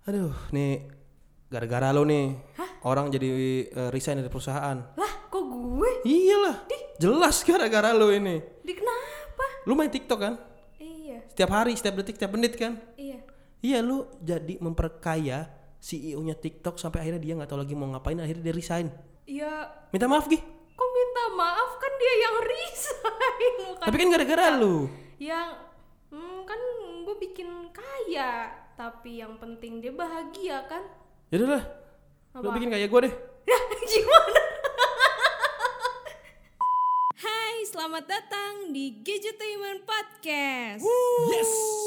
Aduh, nih gara-gara lo nih. Hah? Orang jadi resign dari perusahaan. Lah, kok gue? Iyalah. Jelas gara-gara lo ini. Di kenapa? Lu main TikTok kan? Iya. Setiap hari, setiap detik, setiap menit kan? Iya. Iya, lu jadi memperkaya CEO-nya TikTok sampai akhirnya dia nggak tahu lagi mau ngapain, akhirnya dia resign. Iya. Minta maaf Gi. Kok minta maaf, kan dia yang resign. Bukan Tapi kan gara-gara lu. yang kan gue bikin kaya, tapi yang penting dia bahagia kan? Yaudah lah. Lu Apa? bikin kayak gue deh. Ya, gimana? Hai, selamat datang di Gadgetainment Podcast. Yes.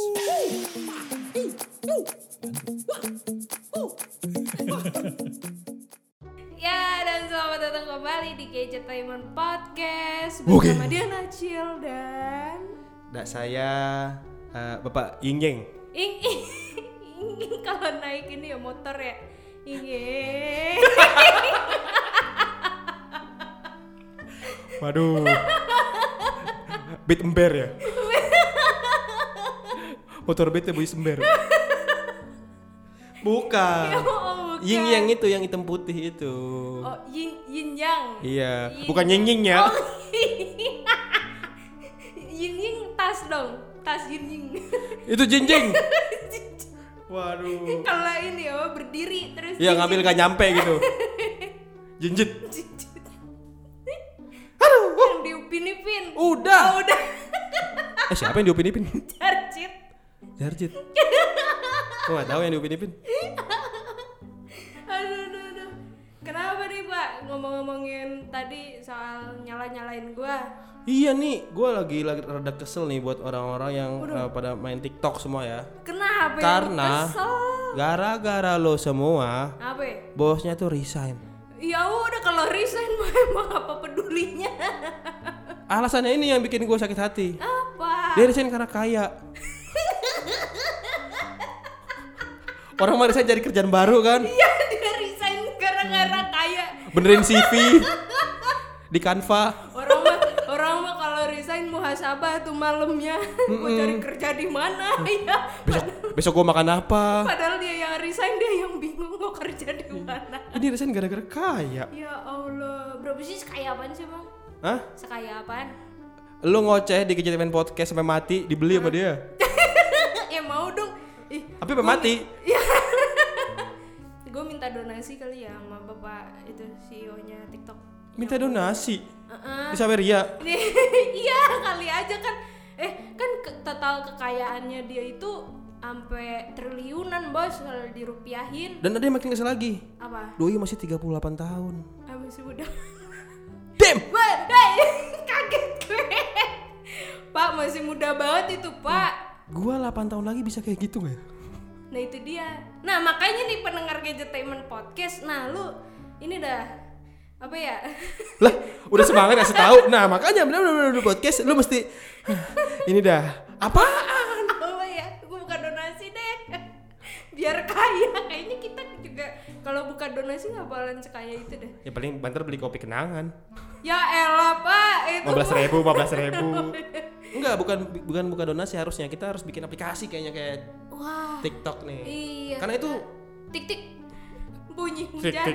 Ya, dan selamat datang kembali di Gadgetainment Podcast Oke. bersama Diana Cil dan Saya Bapak Ying. Ing. Kalau naik ini ya motor ya. Ing. Waduh. Beat ember ya. Motor beat ya boy ember. Bukan. Oh, bukan. Ying yang itu, yang hitam putih itu. Oh, yin yang. Iya, Yin. bukan ying ya. Oh, yin tas dong. Tas yin. Itu jinjing. Waduh. Kalau ini berdiri terus. Iya, ngambil gak nyampe gitu. Jinjit. Yang diupin-ipin. Udah. Oh, udah. Siapa yang diupin-ipin? Jarjit. Jarjit. Gue gak tahu yang diupin-ipin. Aduh. Kenapa nih Pak ngomong-ngomongin tadi soal nyalain gua? Iya nih, gue lagi rada kesel nih buat orang-orang yang pada main TikTok semua ya. Kenapa? Karena Kesel. gara-gara lo semua, Apa? Ya? bosnya tuh resign. Ya udah, kalau resign mah emang apa pedulinya? Alasannya ini yang bikin gue sakit hati. Apa? Dia resign karena kaya. Orang mah resign cari kerjaan baru kan? Iya, dia resign gara-gara kaya. Benerin CV di Canva. Orang mah kalau resign muhasabah tuh malamnya. Mau cari kerja di mana ya? Besok gue makan apa? Padahal dia yang resign, dia yang bingung mau kerja di mana. Ini resign gara-gara kaya. Ya Allah, berapa sih sekaya apaan sih Bang? Hah? Sekaya apaan? Lu ngoceh di Gadgetainment Podcast sampai mati, dibeli sama dia. Ya mau dong. Tapi sampai mati. Gue minta donasi kali ya sama bapak itu CEO-nya TikTok. Minta donasi. Di Saweria. Iya kali aja kan. Kan total kekayaannya dia itu sampai triliunan bos kalau dirupiahin. Dan ada yang makin kesel lagi. Apa? Doi masih 38 tahun. Masih muda. Damn. Kaget gue. Pak masih muda banget itu Pak. Gua 8 tahun lagi bisa kayak gitu gak ya? Nah itu dia. Nah makanya nih pendengar Gadgetainment Podcast. Nah lu ini dah apa ya? Lah, udah semangat kasih tahu. Nah, makanya benar podcast lu mesti ini dah. Apaan? Apa ya? Gue buka donasi deh. Biar kaya. Kayaknya kita juga kalau buka donasi nggak bakalan sekaya itu deh. Ya paling banter beli kopi kenangan. Ya elah Pak, itu 15.000. Enggak, bukan buka donasi harusnya. Kita harus bikin aplikasi kayaknya kayak Wah. TikTok nih. Iya. Karena itu tik bunyi hujan.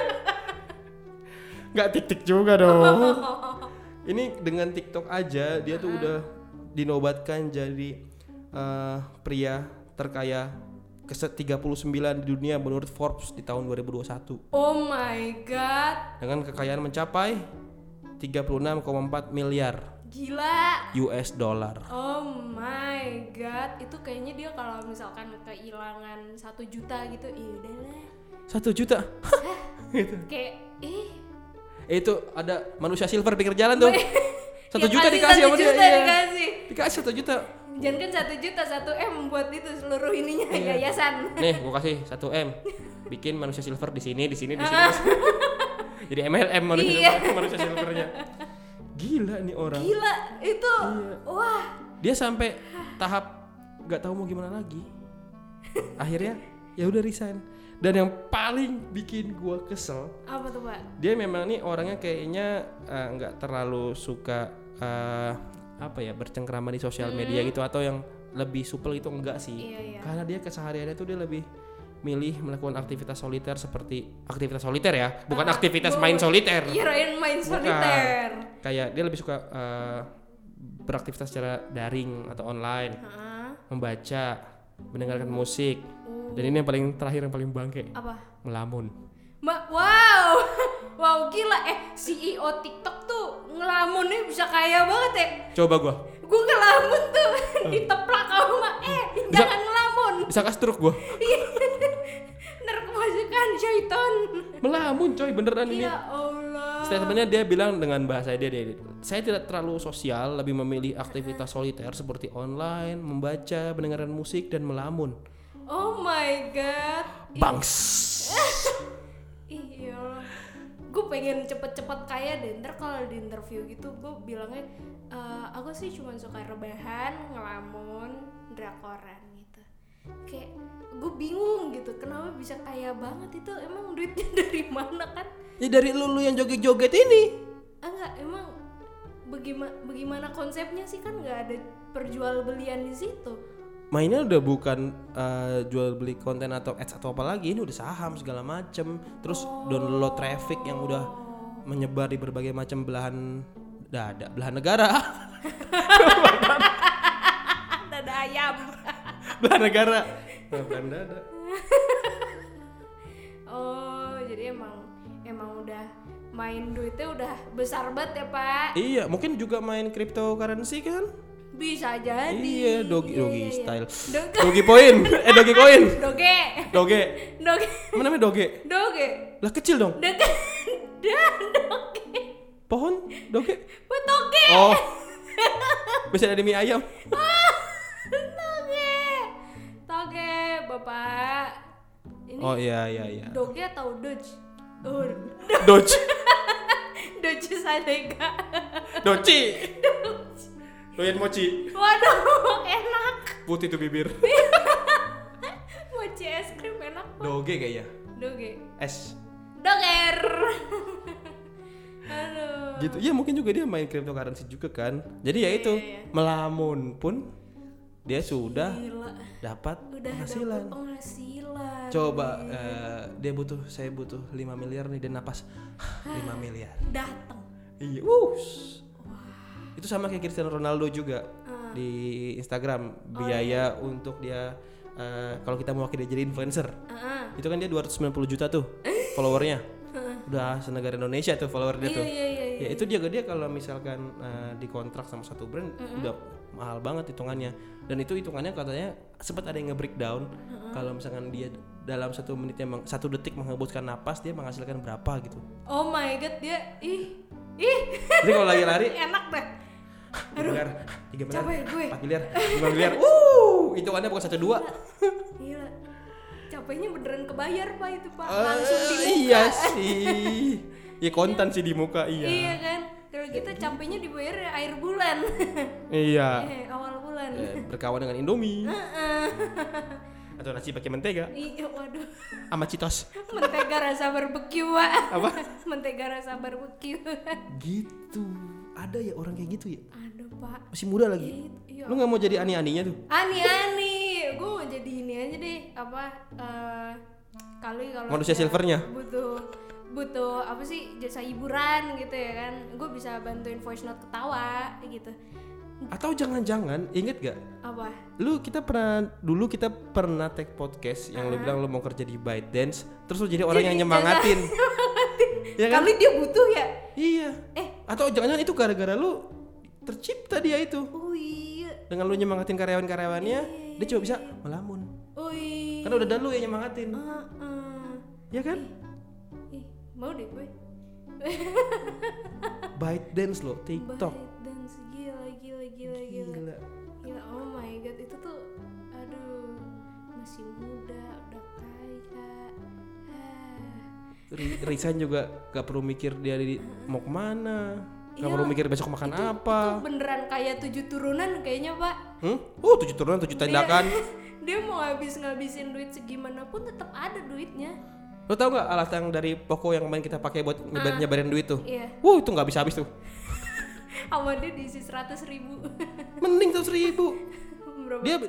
Enggak tik juga dong. Ini dengan TikTok aja dia tuh udah dinobatkan jadi pria terkaya ke-39 di dunia menurut Forbes di tahun 2021. Oh my god. Dengan kekayaan mencapai 36,4 miliar Gila. US dollar. Oh my god. Itu kayaknya dia kalau misalkan kehilangan 1 juta gitu, udah lah. 1 juta. Gitu. Kayak Itu ada manusia silver pinggir jalan tuh. 1 Ya juta kasih dikasih sama 1 dia. juta Iya. dikasih. Dikasih 1 juta. Jangan kan 1 juta, 1 M buat itu seluruh ininya yayasan. Nih, gua kasih 1 M. Bikin manusia silver di sini. Jadi MLM manusia silvernya. Gila nih orang. Gila itu. Iya. Wah. Dia sampai tahap nggak tahu mau gimana lagi. Akhirnya ya udah resign. Dan yang paling bikin gua kesel, Apa tuh Pak? dia memang nih orangnya kayaknya nggak terlalu suka bercengkrama di sosial media gitu, atau yang lebih supel gitu enggak sih. Iya. Karena dia kesehariannya tuh dia lebih milih melakukan aktivitas soliter seperti aktivitas soliter ya, bukan aktivitas main soliter. Kirain main soliter. Kayak dia lebih suka beraktivitas secara daring atau online, membaca, mendengarkan musik. Dan ini yang paling terakhir, yang paling bangke. Apa? Melamun. Wow. Wow, gila. CEO TikTok tuh ngelamunnya bisa kaya banget ya. Coba gua ngelamun tuh diteplak kamu mah. Jangan ngelamun. Bisa kastruk gua. Narkemasukan syaitan. Melamun coy, beneran ini. Ya Allah. Statementnya dia bilang dengan bahasa dia, saya tidak terlalu sosial, lebih memilih aktivitas soliter seperti online, membaca, mendengarkan musik, dan melamun. Oh my god. Bangs. Iya. Gue pengen cepet-cepet kaya deh. Ntar kalau di interview gitu gue bilangnya aku sih cuma suka rebahan, ngelamun, drakoran gitu. Kayak gue bingung gitu, kenapa bisa kaya banget itu? Emang duitnya dari mana kan? Ya dari lu yang joget-joget ini. Enggak, emang bagaimana konsepnya sih, kan nggak ada perjualbelian di situ. Mainnya udah bukan jual beli konten atau ads atau apa lagi, ini udah saham segala macem. Terus download traffic yang udah menyebar di berbagai macam belahan negara. Dada ayam. Belahan negara. Belahan dada. Oh, jadi emang udah main duitnya udah besar banget ya, Pak. Iya, mungkin juga main cryptocurrency kan? Bisa jadi. Iya, dogi style. Doge. Dogi point. Dogi coin. Doge. Apa namanya doge? Doge. Lah kecil dong. Doge. Pohon doge. Toge. Oh. Bisa ada mie ayam. Toge, Bapak. Ini Oh iya. Doge atau Doge? Doge. Doge Sadega. Doci. Doyan mochi. Waduh, enak. Putih tuh bibir. Mochi es krim enak banget. Doge kayaknya. Doge. Es. Doger. Aduh. Gitu. Ya mungkin juga dia main cryptocurrency juga kan. Jadi ya itu, melamun pun dia sudah dapat penghasilan. Coba saya butuh 5 miliar nih, dan napas 5 miliar. Datang. Iya. Itu sama kayak Cristiano Ronaldo juga di Instagram, biaya untuk dia kalau kita mau dia jadi influencer. Itu kan dia 290 juta tuh followernya. Udah senegara Indonesia tuh follower dia tuh. Ya itu dia kalau misalkan dikontrak sama satu brand udah mahal banget hitungannya. Dan itu hitungannya katanya sempat ada yang nge-breakdown kalau misalkan dia dalam 1 menitnya 1 detik menghembuskan napas, dia menghasilkan berapa gitu. Oh my god, dia Jadi kalau lagi lari enak deh. 3 miliar, 3 miliar, capek gue. 4 miliar, 5 miliar. Hitungannya bukan 1-2. Gila. Capeknya beneran kebayar, Pak, itu, Pak. Langsung di muka. Iya sih. Ya kontan sih di muka, iya. Iya kan? Kalau kita capeknya dibayar air bulan. Iya. Awal bulan. Berkawan dengan Indomie. Atau nasi pakai mentega. Iya, waduh. Sama Citos. Mentega rasa barbeque, Pak. Apa? Mentega rasa barbeque. Gitu. Ada ya orang kayak gitu ya? Ada, Pak. Masih muda lagi. Iya. Lu gak mau jadi ani-aninya tuh? Ani-ani. Gue mau jadi ini aja deh. Kalau manusia silvernya. Butuh apa sih, jasa hiburan gitu ya kan. Gue bisa bantuin voice note ketawa gitu. Atau jangan-jangan inget gak? Apa? Kita pernah take podcast yang lu bilang lu mau kerja di ByteDance, terus lu jadi orang yang nyemangatin. Ya kan? Kali dia butuh ya? Iya. Atau jangan-jangan itu gara-gara lu tercipta dia itu. Oh iya. Dengan lu nyemangatin karyawan-karyawannya, dia cuma bisa melamun. Oh iya. Karena udah ada lu yang nyemangatin. Ya kan? Mau deh gue. ByteDance lo, TikTok. ByteDance, gila. Oh my god, itu tuh aduh, masih muda udah kaya. Resign juga gak perlu mikir dia mau kemana, gak perlu mikir besok makan apa. Itu beneran kaya 7 turunan kayaknya, Pak. 7 turunan 7 tindakan. Dia mau ngabisin duit segimanapun tetap ada duitnya. Lo tau gak alat yang dari Poco yang kemarin kita pakai buat nyebarin duit tuh? Iya. Itu gak habis tuh. Awalnya diisi 100.000. Mending 100.000. Dia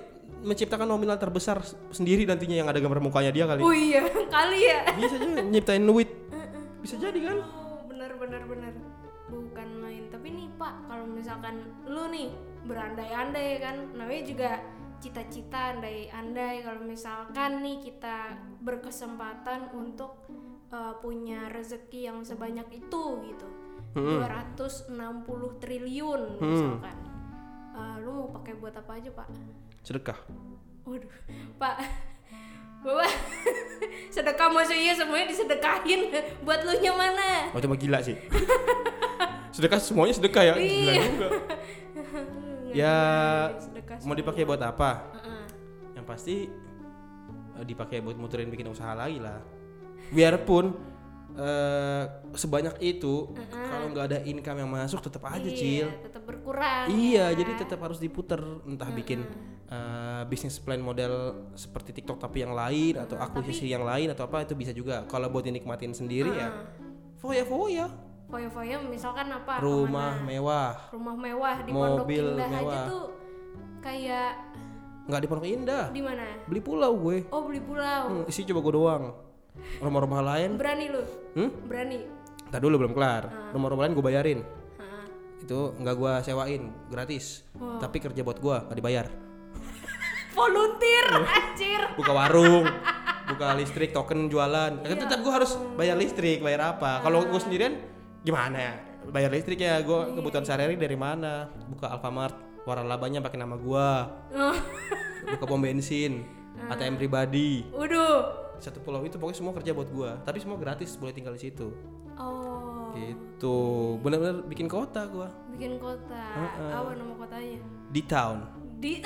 menciptakan nominal terbesar sendiri nantinya yang ada gambar mukanya dia kali. Oh iya, kali ya. Bisa aja nyiptain duit. Bisa jadi kan? Oh, benar. Bukan main. Tapi nih Pak, kalau misalkan lu nih berandai-andai kan, namanya juga cita-cita andai-andai. Kalau misalkan nih kita berkesempatan untuk punya rezeki yang sebanyak itu gitu, 260 triliun misalkan, lu mau pakai buat apa aja Pak? Sedekah. Waduh, Pak, Bapak sedekah maksudnya semuanya disedekahin, buat lu nya mana? Oh cuma gila sih. Sedekah semuanya sedekah ya, gila juga. Ya mau dipakai buat apa? Yang pasti dipakai buat muterin bikin usaha lagi lah. Biarpun sebanyak itu kalau nggak ada income yang masuk tetap aja Cil. Tetap berkurang. Iya, ya. jadi tetap harus diputer, entah bikin bisnis plan model seperti TikTok tapi yang lain atau akuisisi yang lain atau apa, itu bisa juga. Kalau buat dinikmatin sendiri ya foya-foya. Foya-foya misalkan apa? Rumah mewah di Pondok mobil Indah mewah. aja tuh kayak nggak di Pondok Indah. di mana? Beli pulau gue. Oh, beli pulau. Isi coba gue doang. Rumah-rumah lain Berani lu? Berani. Ntar dulu belum kelar. Rumah-rumah lain gue bayarin. Itu nggak gue sewain, gratis. Tapi kerja buat gue, nggak dibayar. Volunteer anjir. Buka warung, buka listrik, token jualan. Tetap gue harus bayar listrik, bayar apa? Kalau gue sendirian gimana ya? Bayar listrik ya, gue kebutuhan sehari-hari dari mana? Buka Alfamart, waralabanya pakai nama gue. Buka pom bensin, ATM pribadi. Waduh. Satu pulau itu pokoknya semua kerja buat gue. Tapi semua gratis, boleh tinggal di situ. Oh. Gitu, benar-benar bikin kota gue. Bikin kota. Apa nama kotanya? Di town. Di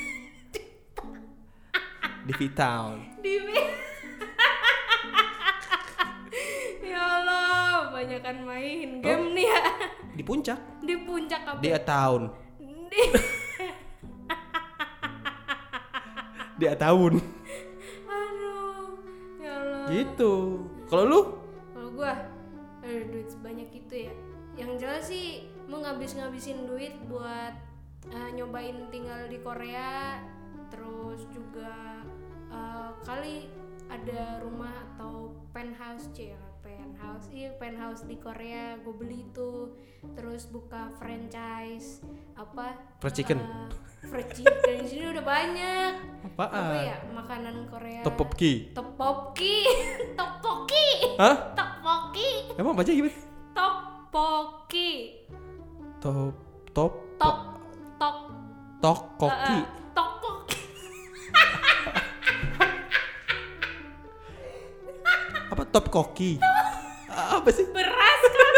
V-Town. Ya Allah, banyakan main game nih ya. Di puncak. Di puncak apa? Di a town. Di a town. Aduh, ya Allah. Gitu. Kalau lu? Kalau gua, duit sebanyak itu ya. Yang jelas sih mau ngabisin duit buat nyobain tinggal di Korea, terus juga kali ada rumah atau penthouse penthouse di Korea gue beli itu, terus buka franchise apa Fried chicken. Fried chicken di sini udah banyak. Apaan? Apa ya makanan Korea? Tteokbokki. Tteokbokki. Hah? Tteokbokki. Emang baca gimana? Tteokbokki. Tteokbokki. Tteokbokki. Apa tteokbokki? Apa sih? Beras kan?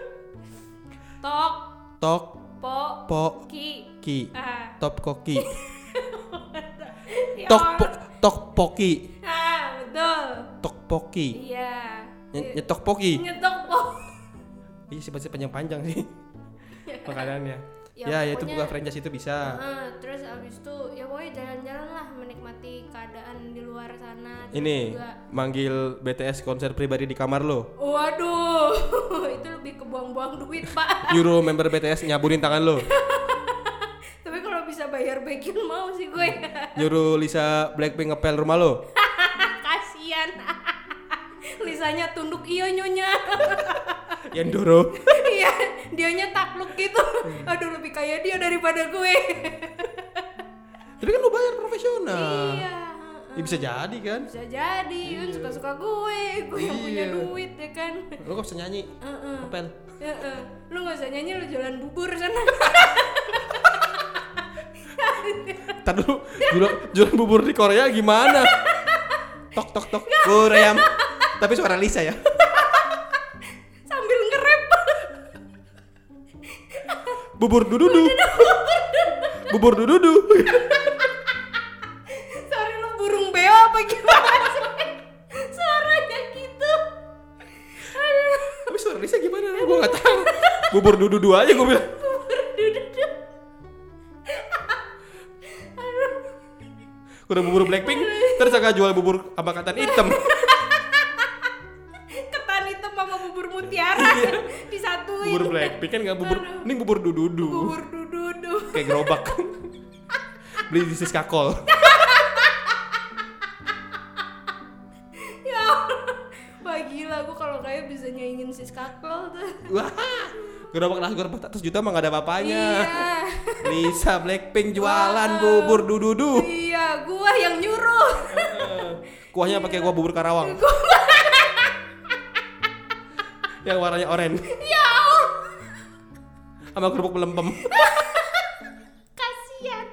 Tteokbokki. Tteokbokki. Ya Tteokbokki. betul. Tteokbokki. Iya. Nyetokbokki. Nyetokbokki. Iya sih pasti panjang-panjang sih makanannya. Ya, Ya itu pokoknya- buka franchise itu bisa. Terus abis itu ya pokoknya jalan-jalan lah, menikmati keadaan di luar sana. Terus Ini juga, manggil BTS konser pribadi di kamar lo. waduh, itu lebih kebuang-buang duit Pak. Nyuruh member BTS nyaburin tangan lo. Tapi kalau bisa bayar baikin mau sih gue. Nyuruh Lisa Blackpink ngepel rumah lo. Kasian. Lisanya tunduk iya nyonya. Yandoro. Iya, dianya takluk gitu. Aduh, lebih kaya dia daripada gue. Tapi kan lo bayar profesional. Iya. Ya bisa jadi kan. Bisa jadi, kan suka-suka gue yang punya Iya. duit ya kan. Lo gak bisa nyanyi. Ngepel. Lu gak usah nyanyi, lu jualan bubur sana. Ntar dulu jualan bubur di Korea gimana? Tok tok tok. Korea. Tapi suara Lisa ya. Sambil nge-rap. Bubur dududu. Bubur dududu. Sorry, lu burung beo apa gimana sih? Suaranya gitu. Aduh. Tapi suara Lisa gimana? Gue gak tahu. Bubur dududu aja gue bilang. Udah bubur Blackpink, terus agak jual bubur apa ketan hitam. Ketan hitam sama bubur mutiara disatuin. Bubur Blackpink kan nggak bubur, ini bubur dududu. Bubur dududu. Kayak gerobak. Beli di Siskakol. Wah gila, gue kalau kayak bisa nyaingin si Skakel tuh. Wah, gerobak nasi goreng 400 juta mah gak ada apa-apanya. Iya. Lisa Blackpink jualan bubur dududu. Iya, gue yang nyuruh. Kuahnya pakai kuah bubur Karawang. Yang warnanya oranye. Ya Allah, Sama kerupuk melempem. kasian.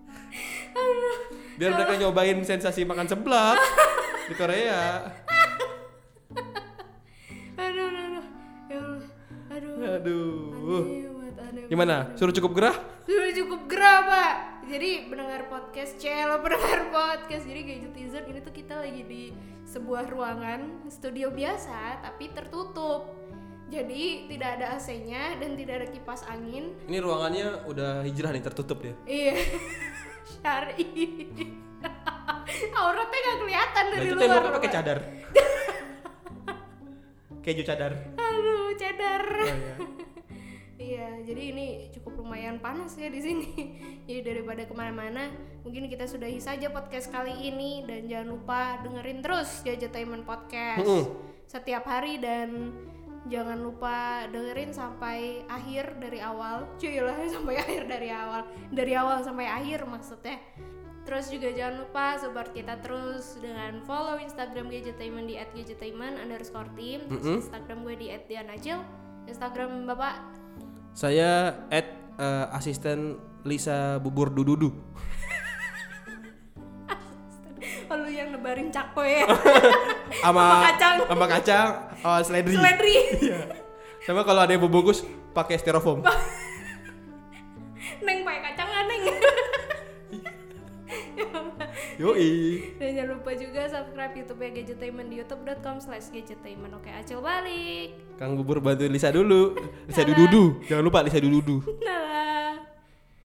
Biar mereka nyobain sensasi makan seblak di Korea. Aduh. Ya Allah. Aduh. Aduh. Aneh Gimana? Suruh cukup gerah? Sudah cukup gerah, Pak. Jadi pendengar podcast, jadi Gadgetizen ini tuh kita lagi di sebuah ruangan studio biasa tapi tertutup. Jadi tidak ada AC-nya dan tidak ada kipas angin. Ini ruangannya udah hijrah nih, tertutup dia. Iya. Syari. Auratnya gak kelihatan dari Nah, itu luar. temboknya pakai cadar. Keju cadar. Aduh, cadar. Oh, iya. Iya, jadi ini cukup lumayan panas ya di sini. Jadi daripada kemana-mana, mungkin kita sudahi saja podcast kali ini dan jangan lupa dengerin terus Gadgetainment Podcast setiap hari dan jangan lupa dengerin sampai akhir dari awal. Cuilah sampai akhir dari awal sampai akhir maksudnya. Terus juga jangan lupa support kita terus dengan follow Instagram Gadgetainment di @gadgetainment_team, terus Instagram gue di @dianacil, Instagram Bapak. Saya asisten Lisa bubur dududu. Oh, lu yang nebarin cakwe ya. Sama kacang. seledri. Seledri. Sama kalau ada yang bungkus pakai styrofoam. Neng pakai kacang nggak, Neng? Yoi. Dan jangan lupa juga subscribe YouTube-nya Gadgetainment di youtube.com/gadgetainment. Oke, Acil balik. Kang bubur bantuin Lisa dulu. Lisa dududu. Jangan lupa Lisa dududu. Nah.